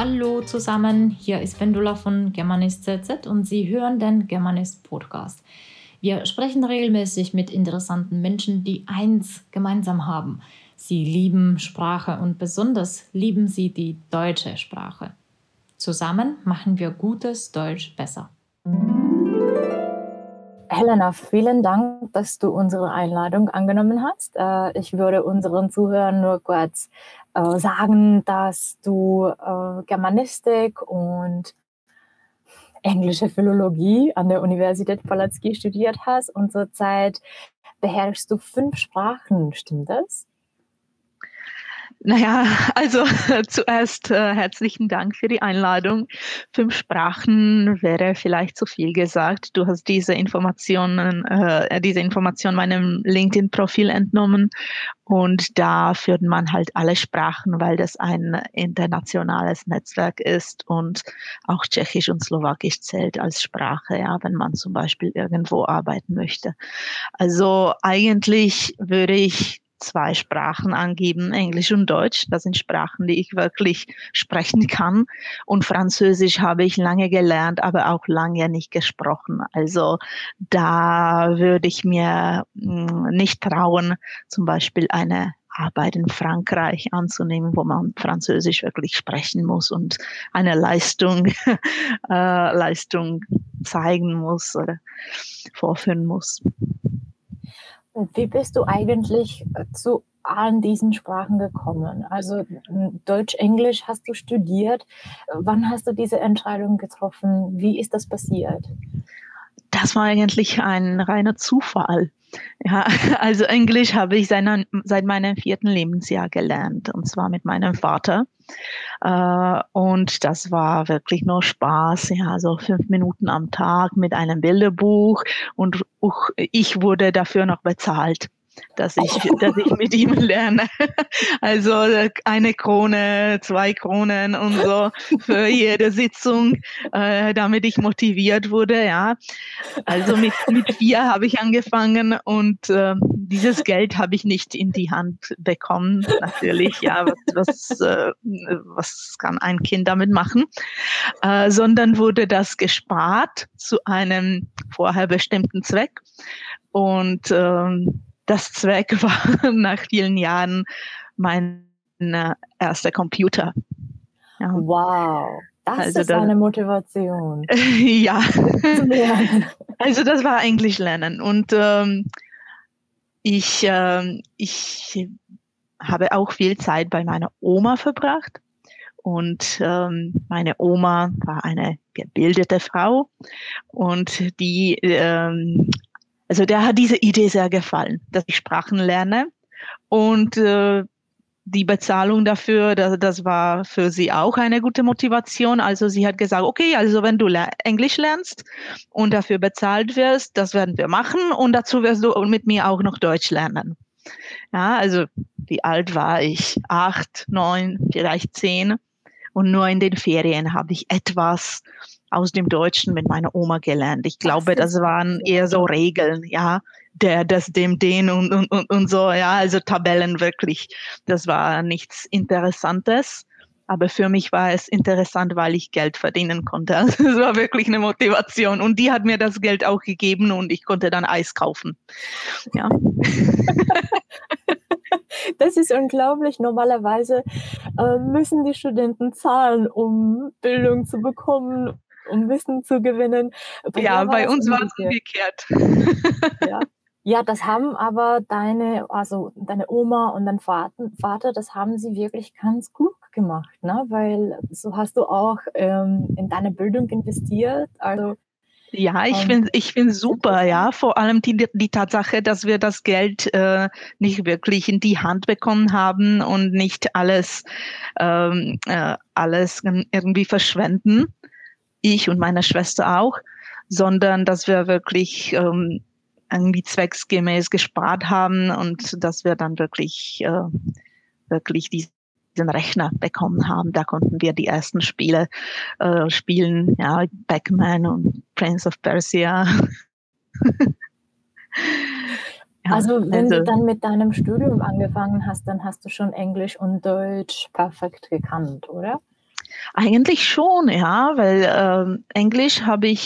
Hallo zusammen, hier ist Vendula von Germanist ZZ und Sie hören den Germanist Podcast. Wir sprechen regelmäßig mit interessanten Menschen, die eins gemeinsam haben. Sie lieben Sprache und besonders lieben sie die deutsche Sprache. Zusammen machen wir gutes Deutsch besser. Helena, vielen Dank, dass du unsere Einladung angenommen hast. Ich würde unseren Zuhörern nur kurz sagen, dass du Germanistik und englische Philologie an der Universität Palacký studiert hast und zurzeit beherrschst du 5 Sprachen, stimmt das? Naja, also zuerst herzlichen Dank für die Einladung. 5 Sprachen wäre vielleicht zu viel gesagt. Du hast diese Information meinem LinkedIn-Profil entnommen und da führt man halt alle Sprachen, weil das ein internationales Netzwerk ist und auch Tschechisch und Slowakisch zählt als Sprache, ja, wenn man zum Beispiel irgendwo arbeiten möchte. Also eigentlich würde ich 2 Sprachen angeben, Englisch und Deutsch. Das sind Sprachen, die ich wirklich sprechen kann. Und Französisch habe ich lange gelernt, aber auch lange nicht gesprochen. Also da würde ich mir nicht trauen, zum Beispiel eine Arbeit in Frankreich anzunehmen, wo man Französisch wirklich sprechen muss und eine Leistung zeigen muss oder vorführen muss. Wie bist du eigentlich zu allen diesen Sprachen gekommen? Also Deutsch, Englisch hast du studiert. Wann hast du diese Entscheidung getroffen? Wie ist das passiert? Das war eigentlich ein reiner Zufall. Ja, also Englisch habe ich seit meinem 4. Lebensjahr gelernt, und zwar mit meinem Vater. Und das war wirklich nur Spaß, ja, so 5 Minuten am Tag mit einem Bilderbuch, und ich wurde dafür noch bezahlt, dass ich mit ihm lerne. Also 1 Krone, 2 Kronen und so für jede Sitzung, damit ich motiviert wurde, ja. Also mit 4 habe ich angefangen und dieses Geld habe ich nicht in die Hand bekommen, natürlich, ja, was kann ein Kind damit machen, sondern wurde das gespart zu einem vorher bestimmten Zweck, und das Zweck war nach vielen Jahren mein erster Computer. Ja. Wow, das ist eine Motivation. Ja, also das war Englisch lernen, und ich habe auch viel Zeit bei meiner Oma verbracht, und meine Oma war eine gebildete Frau, und der hat diese Idee sehr gefallen, dass ich Sprachen lerne, und die Bezahlung dafür, das war für sie auch eine gute Motivation. Also sie hat gesagt, okay, also wenn du Englisch lernst und dafür bezahlt wirst, das werden wir machen, und dazu wirst du mit mir auch noch Deutsch lernen. Ja, also wie alt war ich? 8, 9, vielleicht 10. Und nur in den Ferien habe ich etwas aus dem Deutschen mit meiner Oma gelernt. Ich glaube, das waren eher so Regeln, ja, das, dem, den und so, ja, also Tabellen wirklich. Das war nichts Interessantes, aber für mich war es interessant, weil ich Geld verdienen konnte. Also es war wirklich eine Motivation, und die hat mir das Geld auch gegeben, und ich konnte dann Eis kaufen. Ja. Das ist unglaublich. Normalerweise müssen die Studenten zahlen, um Bildung zu bekommen, um Wissen zu gewinnen. Bei uns war es umgekehrt. Ja, das haben aber deine Oma und dein Vater, das haben sie wirklich ganz klug gemacht, ne? Weil so hast du auch in deine Bildung investiert. Also ja, ich finde super, ja, vor allem die Tatsache, dass wir das Geld nicht wirklich in die Hand bekommen haben und nicht alles irgendwie verschwenden, ich und meine Schwester auch, sondern dass wir wirklich irgendwie zwecksgemäß gespart haben, und dass wir dann wirklich diesen Rechner bekommen haben. Da konnten wir die ersten Spiele spielen, ja, Pac-Man und Prince of Persia. Also wenn du dann mit deinem Studium angefangen hast, dann hast du schon Englisch und Deutsch perfekt gekannt, oder? Eigentlich schon, ja, weil Englisch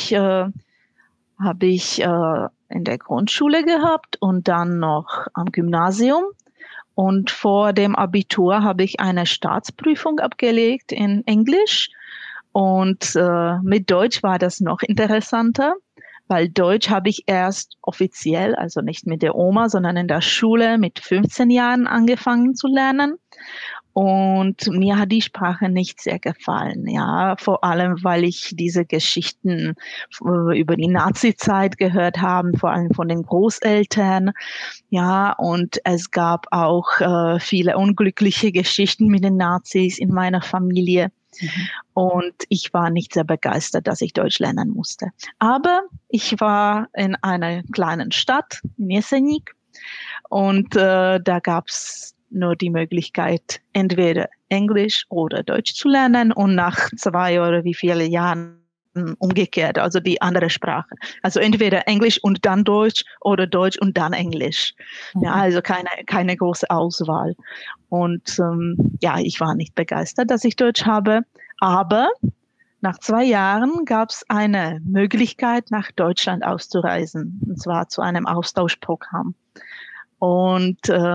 habe ich in der Grundschule gehabt und dann noch am Gymnasium. Und vor dem Abitur habe ich eine Staatsprüfung abgelegt in Englisch. Und mit Deutsch war das noch interessanter, weil Deutsch habe ich erst offiziell, also nicht mit der Oma, sondern in der Schule mit 15 Jahren angefangen zu lernen. Und mir hat die Sprache nicht sehr gefallen, ja, vor allem, weil ich diese Geschichten über die Nazi-Zeit gehört habe, vor allem von den Großeltern, ja, und es gab auch viele unglückliche Geschichten mit den Nazis in meiner Familie. Und ich war nicht sehr begeistert, dass ich Deutsch lernen musste. Aber ich war in einer kleinen Stadt, in Jeseník, und da gab's nur die Möglichkeit, entweder Englisch oder Deutsch zu lernen und nach 2 oder wie viele Jahren umgekehrt, also die andere Sprache. Also entweder Englisch und dann Deutsch oder Deutsch und dann Englisch. Ja, also keine große Auswahl. Und ja, ich war nicht begeistert, dass ich Deutsch habe, aber nach 2 Jahren gab es eine Möglichkeit, nach Deutschland auszureisen, und zwar zu einem Austauschprogramm. Und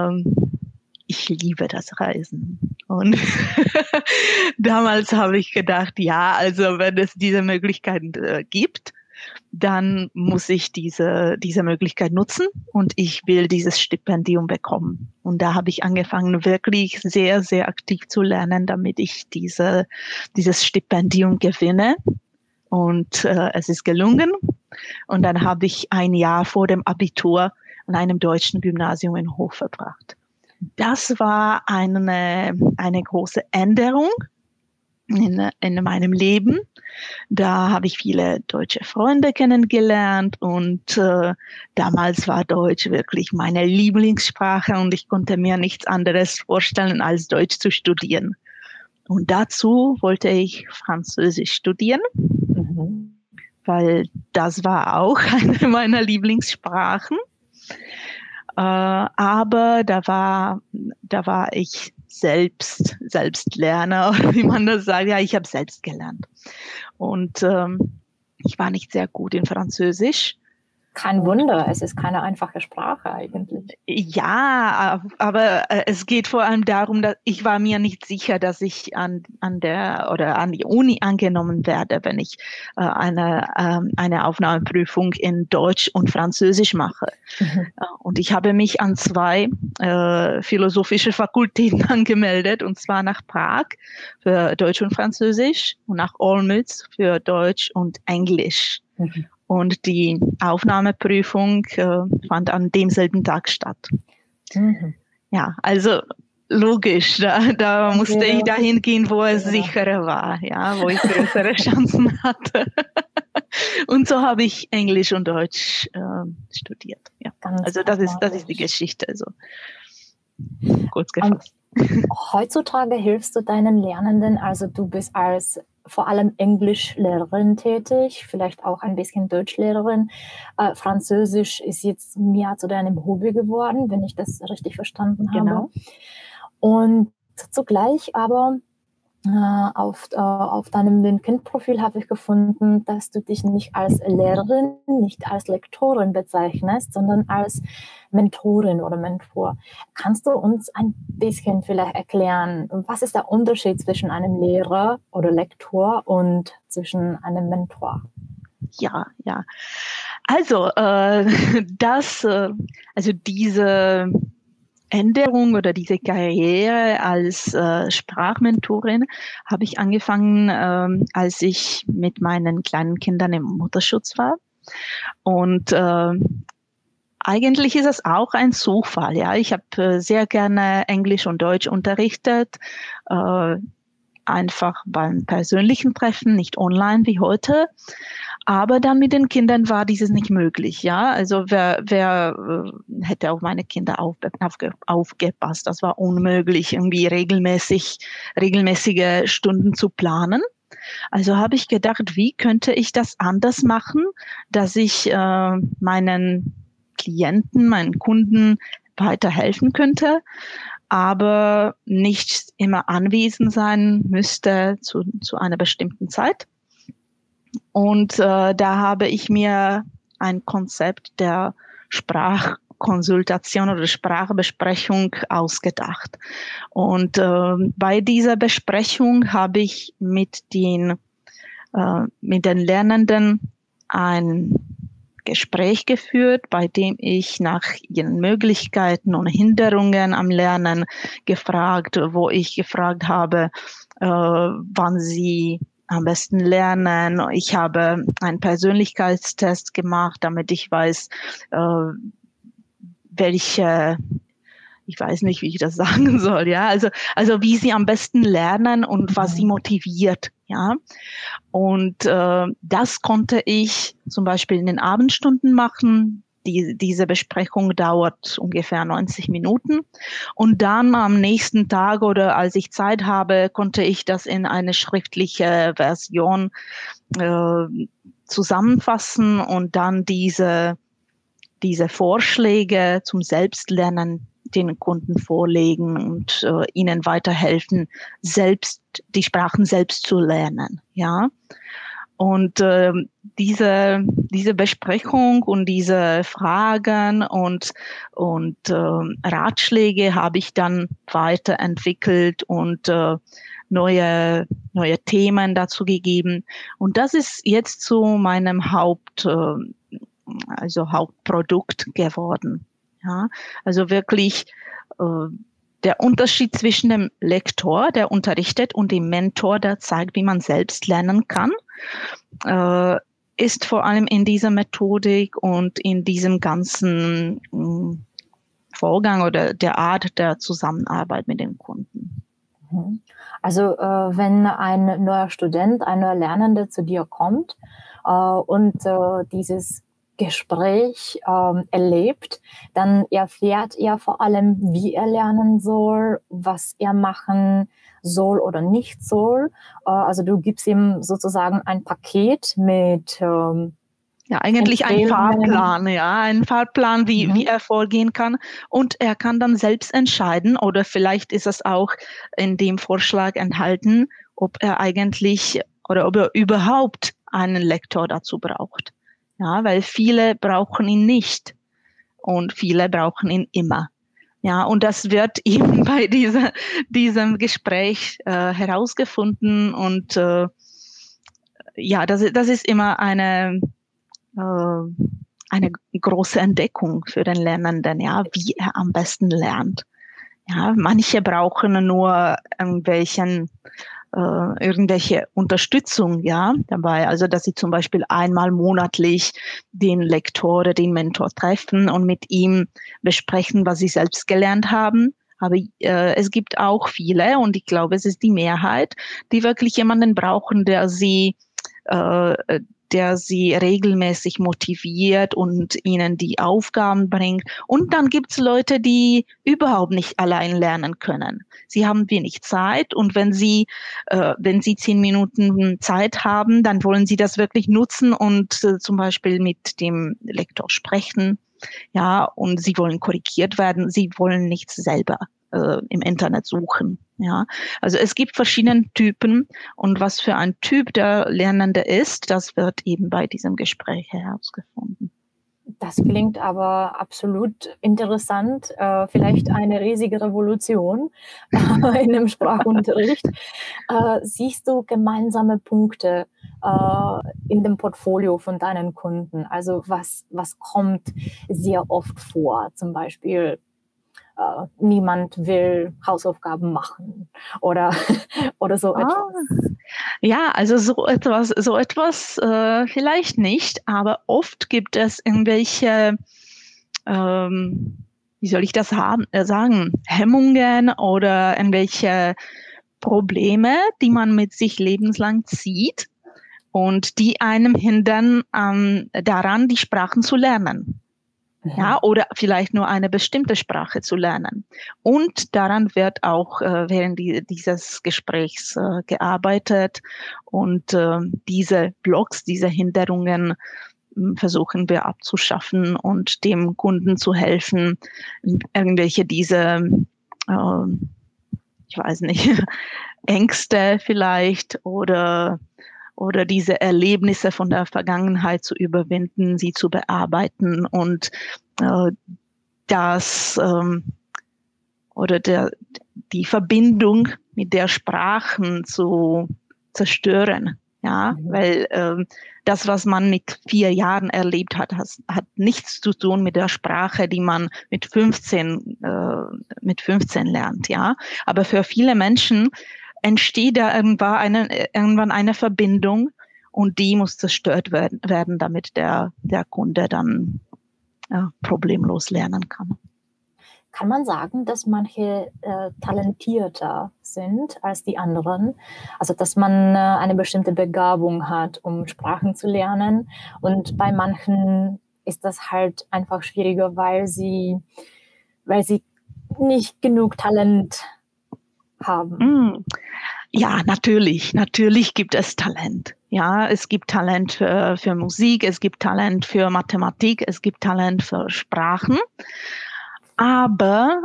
ich liebe das Reisen. Und damals habe ich gedacht, ja, also wenn es diese Möglichkeit gibt, dann muss ich diese Möglichkeit nutzen und ich will dieses Stipendium bekommen. Und da habe ich angefangen, wirklich sehr, sehr aktiv zu lernen, damit ich dieses Stipendium gewinne. Und es ist gelungen. Und dann habe ich ein Jahr vor dem Abitur an einem deutschen Gymnasium in Hof verbracht. Das war eine große Änderung in meinem Leben. Da habe ich viele deutsche Freunde kennengelernt und damals war Deutsch wirklich meine Lieblingssprache und ich konnte mir nichts anderes vorstellen, als Deutsch zu studieren. Und dazu wollte ich Französisch studieren, weil das war auch eine meiner Lieblingssprachen. Aber da war ich Selbstlerner, wie man das sagt. Ja, ich habe selbst gelernt. Und ich war nicht sehr gut in Französisch. Kein Wunder, es ist keine einfache Sprache eigentlich. Ja, aber es geht vor allem darum, dass ich war mir nicht sicher, dass ich an die Uni angenommen werde, wenn ich eine Aufnahmeprüfung in Deutsch und Französisch mache. Und ich habe mich an 2 philosophische Fakultäten angemeldet, und zwar nach Prag für Deutsch und Französisch und nach Olmütz für Deutsch und Englisch. Und die Aufnahmeprüfung fand an demselben Tag statt. Ja, also logisch, da musste ich dahin gehen, wo es sicherer war, ja, wo ich größere Chancen hatte. Und so habe ich Englisch und Deutsch studiert. Ja. Also das ist die Geschichte, so kurz gefasst. Heutzutage hilfst du deinen Lernenden, also du bist als vor allem Englischlehrerin tätig, vielleicht auch ein bisschen Deutschlehrerin. Französisch ist jetzt mehr zu deinem Hobby geworden, wenn ich das richtig verstanden habe. Genau. Und zugleich aber auf deinem LinkedIn-Profil habe ich gefunden, dass du dich nicht als Lehrerin, nicht als Lektorin bezeichnest, sondern als Mentorin oder Mentor. Kannst du uns ein bisschen vielleicht erklären, was ist der Unterschied zwischen einem Lehrer oder Lektor und zwischen einem Mentor? Ja. Also diese Änderung oder diese Karriere als Sprachmentorin habe ich angefangen, als ich mit meinen kleinen Kindern im Mutterschutz war. Und eigentlich ist es auch ein Zufall. Ja, ich habe sehr gerne Englisch und Deutsch unterrichtet, einfach beim persönlichen Treffen, nicht online wie heute. Aber dann mit den Kindern war dieses nicht möglich, ja. Also wer hätte auf meine Kinder aufgepasst? Das war unmöglich, irgendwie regelmäßige Stunden zu planen. Also habe ich gedacht, wie könnte ich das anders machen, dass ich meinen Klienten, meinen Kunden weiterhelfen könnte. aber nicht immer anwesend sein müsste zu einer bestimmten Zeit. Und da habe ich mir ein Konzept der Sprachkonsultation oder Sprachbesprechung ausgedacht. Und bei dieser Besprechung habe ich mit den Lernenden ein Gespräch geführt, bei dem ich nach ihren Möglichkeiten und Hinderungen am Lernen wo ich gefragt habe, wann sie am besten lernen. Ich habe einen Persönlichkeitstest gemacht, damit ich weiß, ich weiß nicht, wie ich das sagen soll, ja, also wie sie am besten lernen und was sie motiviert, ja. Und das konnte ich zum Beispiel in den Abendstunden machen. Diese Besprechung dauert ungefähr 90 Minuten. Und dann am nächsten Tag oder als ich Zeit habe, konnte ich das in eine schriftliche Version zusammenfassen und dann diese Vorschläge zum Selbstlernen den Kunden vorlegen und ihnen weiterhelfen, die Sprachen selbst zu lernen, ja. Und diese Besprechung und diese Fragen und Ratschläge habe ich dann weiterentwickelt und neue Themen dazu gegeben. Und das ist jetzt zu meinem Hauptprodukt geworden. Ja, also wirklich der Unterschied zwischen dem Lektor, der unterrichtet, und dem Mentor, der zeigt, wie man selbst lernen kann, ist vor allem in dieser Methodik und in diesem ganzen Vorgang oder der Art der Zusammenarbeit mit den Kunden. Also wenn ein neuer Student, ein neuer Lernender zu dir kommt und dieses Gespräch erlebt, dann erfährt er vor allem, wie er lernen soll, was er machen soll oder nicht soll. Also du gibst ihm sozusagen ein Paket mit ja, eigentlich ein Fahrplan, wie er vorgehen kann. Und er kann dann selbst entscheiden, oder vielleicht ist es auch in dem Vorschlag enthalten, ob er überhaupt einen Lektor dazu braucht. Ja, weil viele brauchen ihn nicht und viele brauchen ihn immer. Ja, und das wird eben bei diesem Gespräch herausgefunden. Und ja, das ist immer eine große Entdeckung für den Lernenden, ja, wie er am besten lernt. Ja, manche brauchen nur irgendwelche Unterstützung, ja, dabei, also dass sie zum Beispiel einmal monatlich den Lektor oder den Mentor treffen und mit ihm besprechen, was sie selbst gelernt haben. Aber es gibt auch viele, und ich glaube, es ist die Mehrheit, die wirklich jemanden brauchen, der sie regelmäßig motiviert und ihnen die Aufgaben bringt. Und dann gibt es Leute, die überhaupt nicht allein lernen können. Sie haben wenig Zeit, und wenn sie 10 Minuten Zeit haben, dann wollen sie das wirklich nutzen und zum Beispiel mit dem Lektor sprechen. Ja, und sie wollen korrigiert werden. Sie wollen nichts selber im Internet suchen. Ja, also es gibt verschiedene Typen, und was für ein Typ der Lernende ist, das wird eben bei diesem Gespräch herausgefunden. Das klingt aber absolut interessant. Vielleicht eine riesige Revolution in dem Sprachunterricht. Siehst du gemeinsame Punkte in dem Portfolio von deinen Kunden? Also was kommt sehr oft vor? Zum Beispiel, niemand will Hausaufgaben machen oder so etwas. Ja, also so etwas vielleicht nicht, aber oft gibt es irgendwelche, wie soll ich das sagen, Hemmungen oder irgendwelche Probleme, die man mit sich lebenslang zieht und die einem hindern, daran, die Sprachen zu lernen. Ja, oder vielleicht nur eine bestimmte Sprache zu lernen. Und daran wird auch während dieses Gesprächs gearbeitet. Und diese Blocks, diese Hinderungen versuchen wir abzuschaffen und dem Kunden zu helfen, irgendwelche diese ich weiß nicht, Ängste vielleicht oder diese Erlebnisse von der Vergangenheit zu überwinden, sie zu bearbeiten und die Verbindung mit der Sprache zu zerstören. Ja, weil das, was man mit 4 Jahren erlebt hat, hat nichts zu tun mit der Sprache, die man mit 15 lernt. Ja, aber für viele Menschen entsteht da irgendwann eine Verbindung und die muss zerstört werden, damit der Kunde dann problemlos lernen kann. Kann man sagen, dass manche talentierter sind als die anderen? Also, dass man eine bestimmte Begabung hat, um Sprachen zu lernen. Und bei manchen ist das halt einfach schwieriger, weil sie nicht genug Talent haben. Ja, natürlich. Natürlich gibt es Talent. Ja, es gibt Talent für Musik, es gibt Talent für Mathematik, es gibt Talent für Sprachen. Aber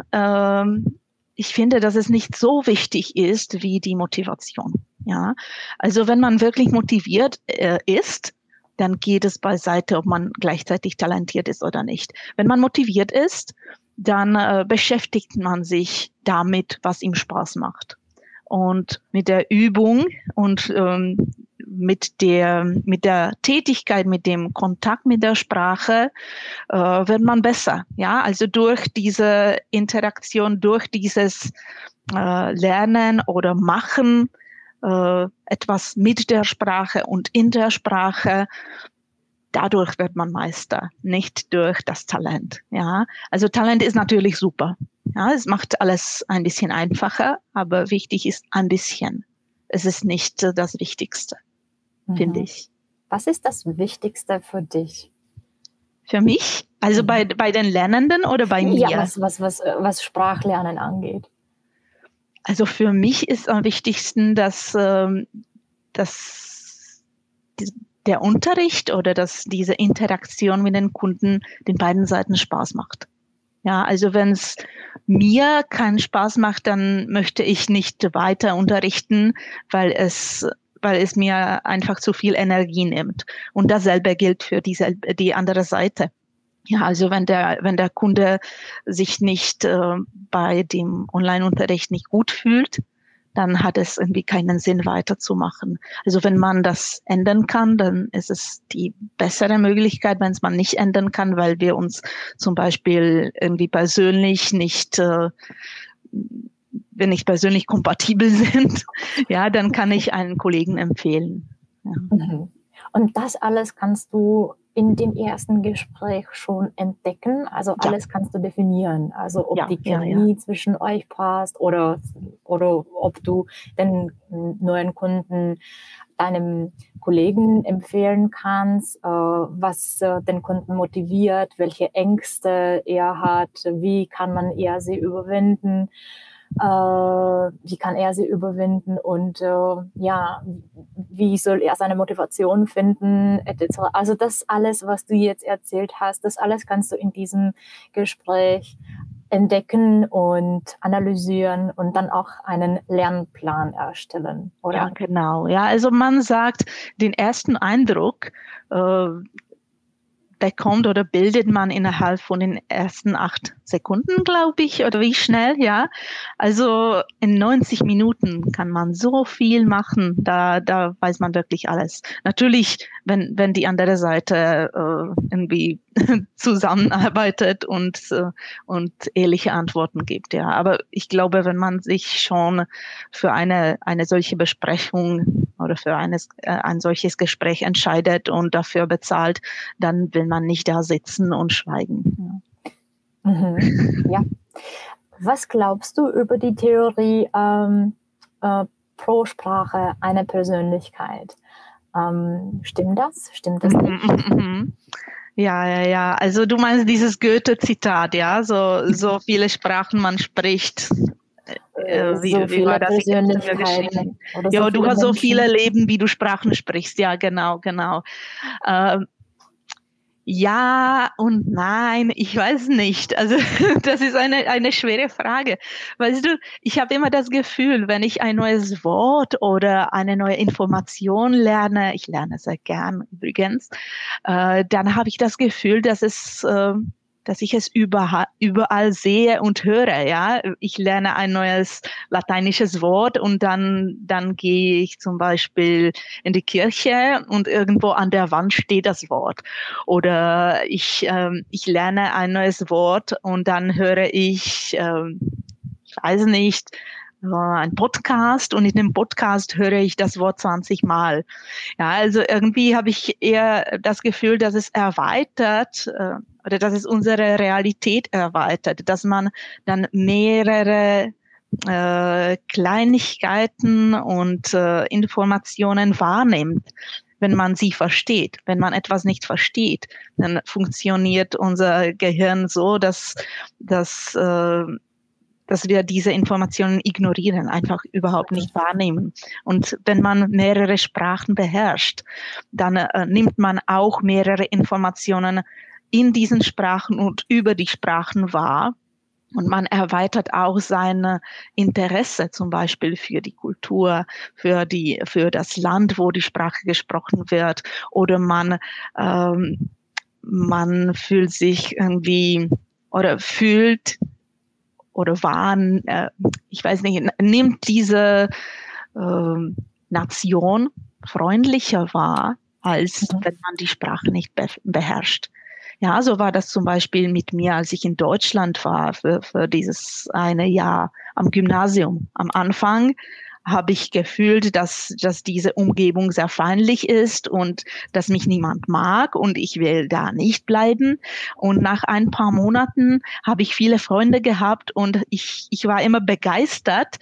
ich finde, dass es nicht so wichtig ist wie die Motivation. Ja, also wenn man wirklich motiviert ist, dann geht es beiseite, ob man gleichzeitig talentiert ist oder nicht. Wenn man motiviert ist, dann beschäftigt man sich damit, was ihm Spaß macht. Und mit der Übung und mit der Tätigkeit, mit dem Kontakt mit der Sprache wird man besser. Ja, also durch diese Interaktion, durch dieses Lernen oder Machen, etwas mit der Sprache und in der Sprache, dadurch wird man Meister, nicht durch das Talent. Ja, also Talent ist natürlich super. Ja, es macht alles ein bisschen einfacher, aber wichtig ist ein bisschen. Es ist nicht das Wichtigste, finde ich. Was ist das Wichtigste für dich? Für mich? Also bei den Lernenden oder bei mir? Ja, was Sprachlernen angeht. Also für mich ist am wichtigsten, dass der Unterricht oder dass diese Interaktion mit den Kunden den beiden Seiten Spaß macht. Ja, also wenn es mir keinen Spaß macht, dann möchte ich nicht weiter unterrichten, weil es mir einfach zu viel Energie nimmt. Und dasselbe gilt für die andere Seite. Ja, also wenn der Kunde sich nicht bei dem Online-Unterricht nicht gut fühlt, dann hat es irgendwie keinen Sinn weiterzumachen. Also wenn man das ändern kann, dann ist es die bessere Möglichkeit. Wenn es man nicht ändern kann, weil wir uns zum Beispiel irgendwie persönlich wir nicht persönlich kompatibel sind, ja, dann kann ich einen Kollegen empfehlen. Ja. Und das alles kannst du in dem ersten Gespräch schon entdecken? Also alles kannst du definieren? Also ob die Chemie zwischen euch passt oder ob du den neuen Kunden deinem Kollegen empfehlen kannst, was den Kunden motiviert, welche Ängste er hat, wie kann sie überwinden und wie soll er seine Motivation finden, etc. Also das alles, was du jetzt erzählt hast, das alles kannst du in diesem Gespräch entdecken und analysieren und dann auch einen Lernplan erstellen, oder? Ja, genau. Ja, also man sagt, den ersten Eindruck bekommt oder bildet man innerhalb von den ersten 8 Sekunden, glaube ich, oder wie schnell, ja. Also in 90 Minuten kann man so viel machen, da weiß man wirklich alles. Natürlich, wenn die andere Seite irgendwie zusammenarbeitet und ehrliche Antworten gibt, ja. Aber ich glaube, wenn man sich schon für eine solche Besprechung oder für ein solches Gespräch entscheidet und dafür bezahlt, dann will man nicht da sitzen und schweigen. Ja. Ja. Was glaubst du über die Theorie pro Sprache eine Persönlichkeit? Stimmt das? Stimmt das nicht? Ja. Also du meinst dieses Goethe-Zitat, ja? So viele Sprachen man spricht. Wie war das? Ja, du hast so viele Leben, wie du Sprachen sprichst. Ja, genau. Ja und nein, ich weiß nicht. Also das ist eine schwere Frage. Weißt du, ich habe immer das Gefühl, wenn ich ein neues Wort oder eine neue Information lerne, ich lerne sehr gern übrigens, dann habe ich das Gefühl, dass ich es überall sehe und höre. Ja, ich lerne ein neues lateinisches Wort und dann gehe ich zum Beispiel in die Kirche und irgendwo an der Wand steht das Wort. Oder ich lerne ein neues Wort und dann höre ich weiß nicht, ein Podcast und in dem Podcast höre ich das Wort 20 Mal. Ja, also irgendwie habe ich eher das Gefühl, dass es erweitert oder dass es unsere Realität erweitert, dass man dann mehrere Kleinigkeiten und Informationen wahrnimmt, wenn man sie versteht. Wenn man etwas nicht versteht, dann funktioniert unser Gehirn so, dass wir diese Informationen ignorieren, einfach überhaupt nicht wahrnehmen. Und wenn man mehrere Sprachen beherrscht, dann nimmt man auch mehrere Informationen in diesen Sprachen und über die Sprachen wahr. Und man erweitert auch sein Interesse zum Beispiel für die Kultur, für das Land, wo die Sprache gesprochen wird. Oder man fühlt sich irgendwie oder fühlt oder ich weiß nicht, nimmt diese Nation freundlicher wahr, als wenn man die Sprache nicht beherrscht. Ja, so war das zum Beispiel mit mir, als ich in Deutschland war für dieses eine Jahr am Gymnasium. Am Anfang habe ich gefühlt, dass diese Umgebung sehr feindlich ist und dass mich niemand mag und ich will da nicht bleiben. Und nach ein paar Monaten habe ich viele Freunde gehabt und ich war immer begeistert,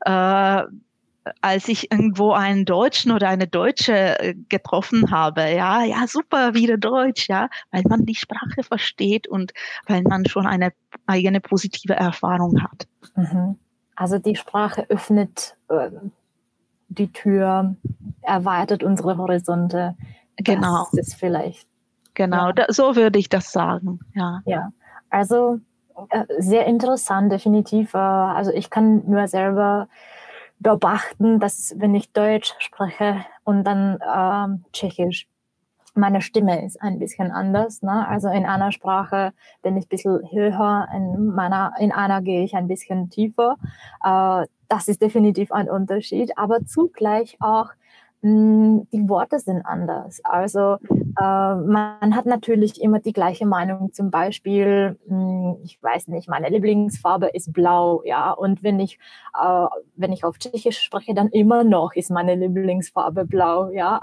als ich irgendwo einen Deutschen oder eine Deutsche getroffen habe. Ja, ja, super, wieder Deutsch, ja, weil man die Sprache versteht und weil man schon eine eigene positive Erfahrung hat. Mhm. Also die Sprache öffnet die Tür, erweitert unsere Horizonte. Genau. Das ist vielleicht. Genau, Ja. so würde ich das sagen. Ja. Ja, also sehr interessant, definitiv. Also ich kann nur selber beobachten, dass wenn ich Deutsch spreche und dann Tschechisch, meine Stimme ist ein bisschen anders. Ne? Also in einer Sprache bin ich ein bisschen höher, in einer gehe ich ein bisschen tiefer. Das ist definitiv ein Unterschied, aber zugleich auch die Worte sind anders. Also man hat natürlich immer die gleiche Meinung. Zum Beispiel, ich weiß nicht, meine Lieblingsfarbe ist blau, ja. Und wenn ich auf Tschechisch spreche, dann immer noch ist meine Lieblingsfarbe blau, ja.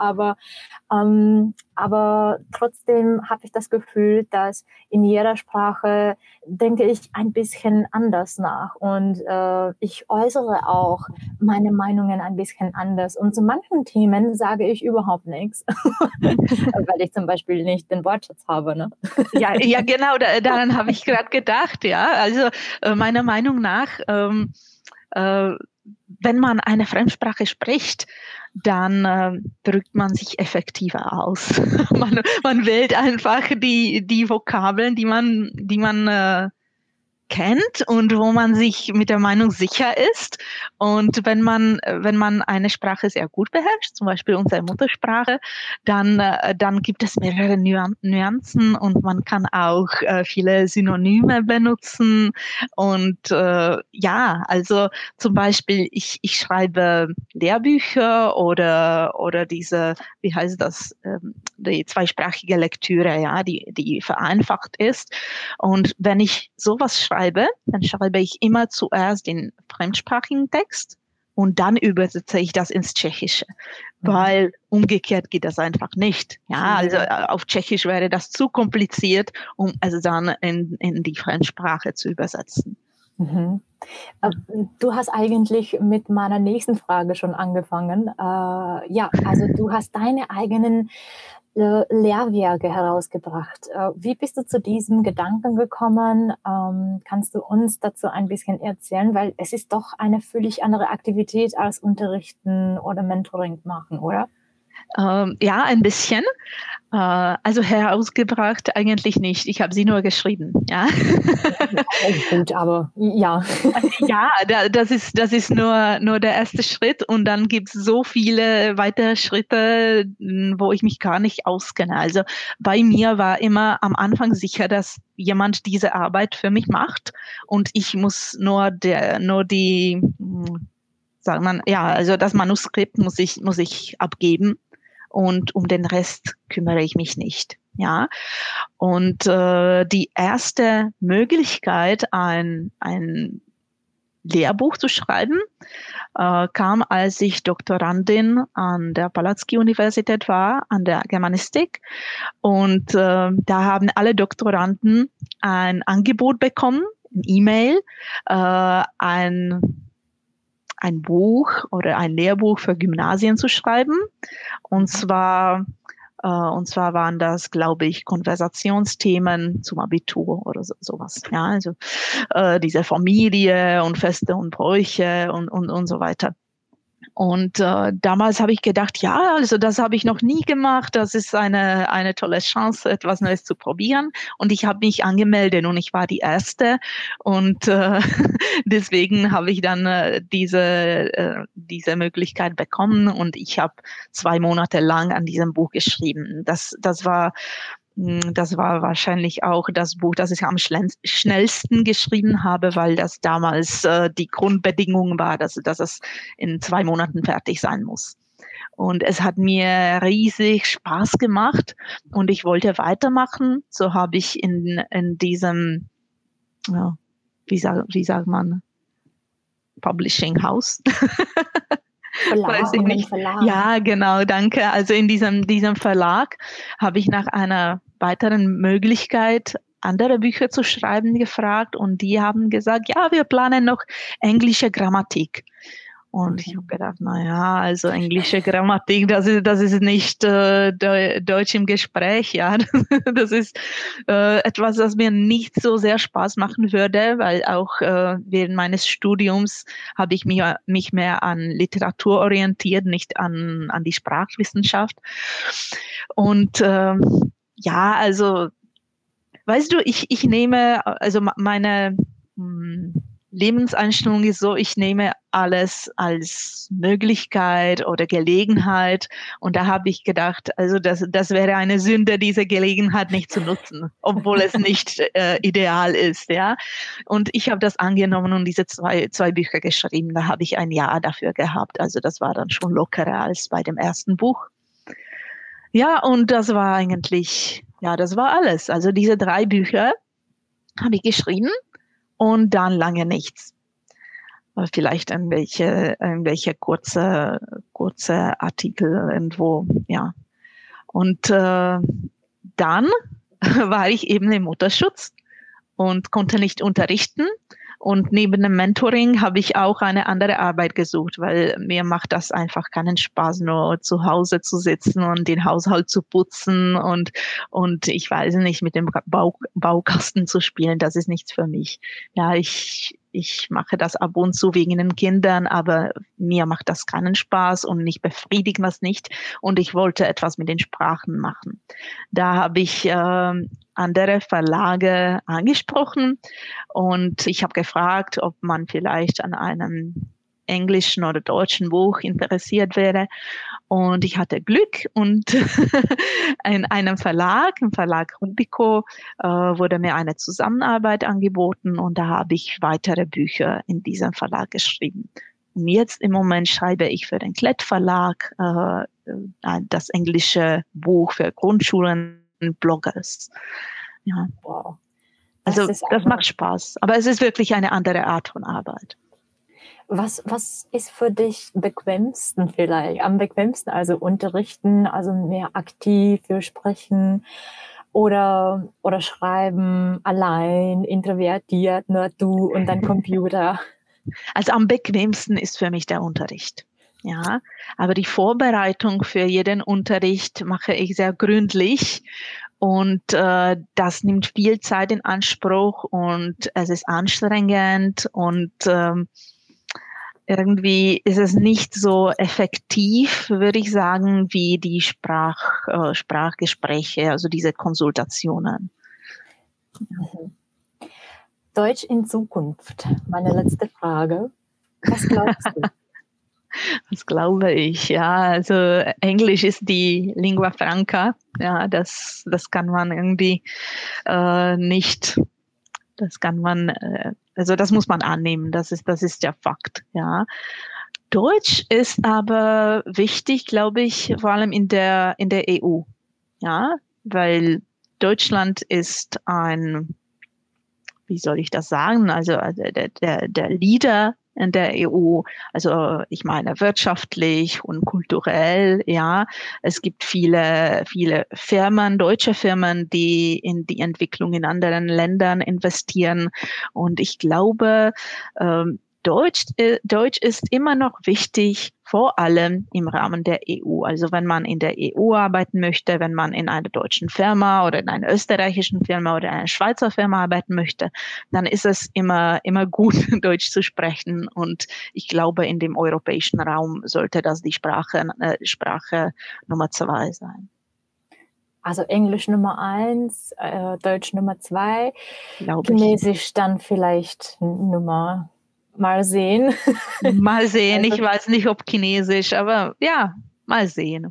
Aber trotzdem habe ich das Gefühl, dass in jeder Sprache denke ich ein bisschen anders nach und ich äußere auch meine Meinungen ein bisschen anders. Und zu manchen Themen sage ich überhaupt nichts, weil ich zum Beispiel nicht den Wortschatz habe. Ne? Ja, genau, daran habe ich gerade gedacht. Ja, also meiner Meinung nach, wenn man eine Fremdsprache spricht, dann drückt man sich effektiver aus. Man wählt einfach die Vokabeln, die man kennt und wo man sich mit der Meinung sicher ist. Und wenn man eine Sprache sehr gut beherrscht, zum Beispiel unsere Muttersprache, dann gibt es mehrere Nuancen und man kann auch viele Synonyme benutzen. Und ja, also zum Beispiel ich schreibe Lehrbücher oder diese, wie heißt das, die zweisprachige Lektüre, ja, die vereinfacht ist. Und wenn ich sowas schreibe, dann schreibe ich immer zuerst den fremdsprachigen Text und dann übersetze ich das ins Tschechische, weil umgekehrt geht das einfach nicht. Ja, also auf Tschechisch wäre das zu kompliziert, um es dann in die Fremdsprache zu übersetzen. Mhm. Du hast eigentlich mit meiner nächsten Frage schon angefangen. Ja, also du hast deine eigenen Lehrwerke herausgebracht. Wie bist du zu diesem Gedanken gekommen? Kannst du uns dazu ein bisschen erzählen? Weil es ist doch eine völlig andere Aktivität als Unterrichten oder Mentoring machen, oder? Ja, ein bisschen. Also herausgebracht eigentlich nicht. Ich habe sie nur geschrieben. Ja. Gut, aber ja. Ja, das ist nur der erste Schritt und dann gibt es so viele weitere Schritte, wo ich mich gar nicht auskenne. Also bei mir war immer am Anfang sicher, dass jemand diese Arbeit für mich macht und ich muss nur die, sagt man, ja, also das Manuskript muss ich abgeben und um den Rest kümmere ich mich nicht. Ja, und die erste Möglichkeit, ein Lehrbuch zu schreiben, kam, als ich Doktorandin an der Palacký-Universität war, an der Germanistik. Und da haben alle Doktoranden ein Angebot bekommen, ein E-Mail, ein Buch oder ein Lehrbuch für Gymnasien zu schreiben. Und zwar waren das, glaube ich, Konversationsthemen zum Abitur oder sowas. Ja, also diese Familie und Feste und Bräuche und so weiter. Und damals habe ich gedacht, ja, also das habe ich noch nie gemacht. Das ist eine tolle Chance, etwas Neues zu probieren. Und ich habe mich angemeldet und ich war die Erste. Und deswegen habe ich dann diese Möglichkeit bekommen. Und ich habe 2 Monate lang an diesem Buch geschrieben. Das war wahrscheinlich auch das Buch, das ich am schnellsten geschrieben habe, weil das damals die Grundbedingung war, dass es in 2 Monaten fertig sein muss. Und es hat mir riesig Spaß gemacht und ich wollte weitermachen. So habe ich in diesem, ja, wie sagt man, Publishing House. Weiß ich nicht. Verlag. Ja, genau, danke. Also in diesem Verlag habe ich nach einer weiteren Möglichkeit, andere Bücher zu schreiben, gefragt und die haben gesagt, ja, wir planen noch englische Grammatik. Und ich habe gedacht, na ja, also englische Grammatik, das ist nicht Deutsch im Gespräch, ja. Das ist etwas, das mir nicht so sehr Spaß machen würde, weil auch während meines Studiums habe ich mich mehr an Literatur orientiert, nicht an die Sprachwissenschaft. Und ja, also weißt du, ich nehme, also meine Lebenseinstellung ist so, ich nehme alles als Möglichkeit oder Gelegenheit. Und da habe ich gedacht, also das wäre eine Sünde, diese Gelegenheit nicht zu nutzen, obwohl es nicht ideal ist, ja. Und ich habe das angenommen und diese zwei Bücher geschrieben. Da habe ich ein Jahr dafür gehabt. Also das war dann schon lockerer als bei dem ersten Buch. Ja, und das war eigentlich, ja, das war alles. Also diese 3 Bücher habe ich geschrieben. Und dann lange nichts. Vielleicht irgendwelche kurze Artikel irgendwo, ja. Und dann war ich eben im Mutterschutz und konnte nicht unterrichten. Und neben dem Mentoring habe ich auch eine andere Arbeit gesucht, weil mir macht das einfach keinen Spaß, nur zu Hause zu sitzen und den Haushalt zu putzen und ich weiß nicht, mit dem Baukasten zu spielen. Das ist nichts für mich. Ja, ich mache das ab und zu wegen den Kindern, aber mir macht das keinen Spaß und mich befriedigt das nicht. Und ich wollte etwas mit den Sprachen machen. Da habe ich andere Verlage angesprochen und ich habe gefragt, ob man vielleicht an einem englischen oder deutschen Buch interessiert wäre. Und ich hatte Glück und in einem Verlag, im Verlag Rubico, wurde mir eine Zusammenarbeit angeboten und da habe ich weitere Bücher in diesem Verlag geschrieben. Und jetzt im Moment schreibe ich für den Klett Verlag das englische Buch für Grundschulen und Bloggers. Ja. Wow. Also das macht Spaß, aber es ist wirklich eine andere Art von Arbeit. Was ist für dich bequemsten vielleicht? Am bequemsten, also unterrichten, also mehr aktiv für sprechen oder schreiben, allein, introvertiert, nur du und dein Computer? Also am bequemsten ist für mich der Unterricht. Ja, aber die Vorbereitung für jeden Unterricht mache ich sehr gründlich. Und das nimmt viel Zeit in Anspruch und es ist anstrengend und irgendwie ist es nicht so effektiv, würde ich sagen, wie die Sprachgespräche, also diese Konsultationen. Deutsch in Zukunft. Meine letzte Frage. Was glaubst du? Das glaube ich, ja. Also Englisch ist die Lingua Franca. Ja, das kann man irgendwie nicht, das kann man, also das muss man annehmen. Das ist der Fakt, ja. Deutsch ist aber wichtig, glaube ich, vor allem in der EU, ja, weil Deutschland ist wie soll ich das sagen? Also der Leader in der EU, also ich meine wirtschaftlich und kulturell, ja. Es gibt viele Firmen, deutsche Firmen, die in die Entwicklung in anderen Ländern investieren. Und ich glaube, Deutsch ist immer noch wichtig, vor allem im Rahmen der EU. Also wenn man in der EU arbeiten möchte, wenn man in einer deutschen Firma oder in einer österreichischen Firma oder einer Schweizer Firma arbeiten möchte, dann ist es immer gut, Deutsch zu sprechen. Und ich glaube, in dem europäischen Raum sollte das die Sprache Nummer 2 sein. Also Englisch Nummer 1, Deutsch Nummer 2, Chinesisch dann vielleicht mal sehen. Mal sehen, ich weiß nicht, ob Chinesisch, aber ja, mal sehen.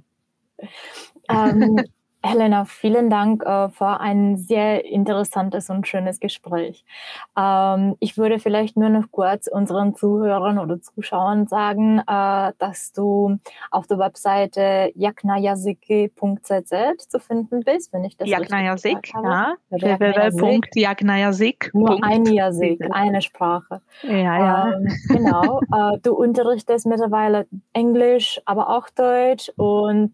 Helena, vielen Dank für ein sehr interessantes und schönes Gespräch. Ich würde vielleicht nur noch kurz unseren Zuhörern oder Zuschauern sagen, dass du auf der Webseite yaknayazik.cz zu finden bist, wenn ich das Yaknayazik, richtig habe. Ja. www.yaknayazik. Nur ein Yazik, eine Sprache. Ja. Genau. Du unterrichtest mittlerweile Englisch, aber auch Deutsch. Und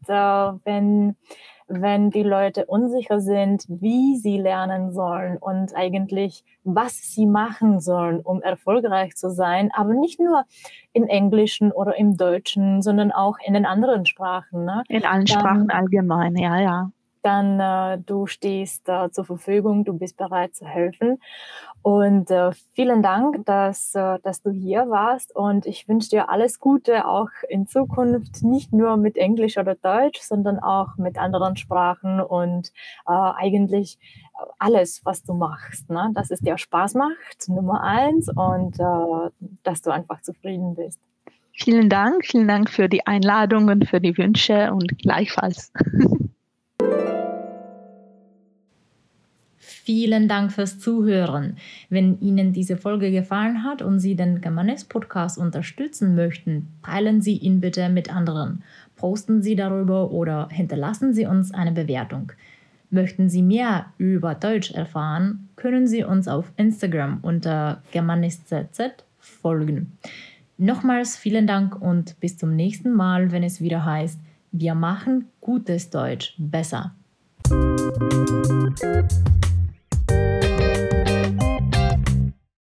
wenn die Leute unsicher sind, wie sie lernen sollen und eigentlich, was sie machen sollen, um erfolgreich zu sein, aber nicht nur im Englischen oder im Deutschen, sondern auch in den anderen Sprachen. Ne? In allen Sprachen allgemein, ja. Dann du stehst zur Verfügung, du bist bereit zu helfen. Und vielen Dank, dass du hier warst. Und ich wünsche dir alles Gute, auch in Zukunft, nicht nur mit Englisch oder Deutsch, sondern auch mit anderen Sprachen und eigentlich alles, was du machst. Ne? Dass es dir Spaß macht, Nummer 1, und dass du einfach zufrieden bist. Vielen Dank für die Einladung und für die Wünsche und gleichfalls. Vielen Dank fürs Zuhören. Wenn Ihnen diese Folge gefallen hat und Sie den Germanist-Podcast unterstützen möchten, teilen Sie ihn bitte mit anderen. Posten Sie darüber oder hinterlassen Sie uns eine Bewertung. Möchten Sie mehr über Deutsch erfahren, können Sie uns auf Instagram unter germanistcz folgen. Nochmals vielen Dank und bis zum nächsten Mal, wenn es wieder heißt, wir machen gutes Deutsch besser.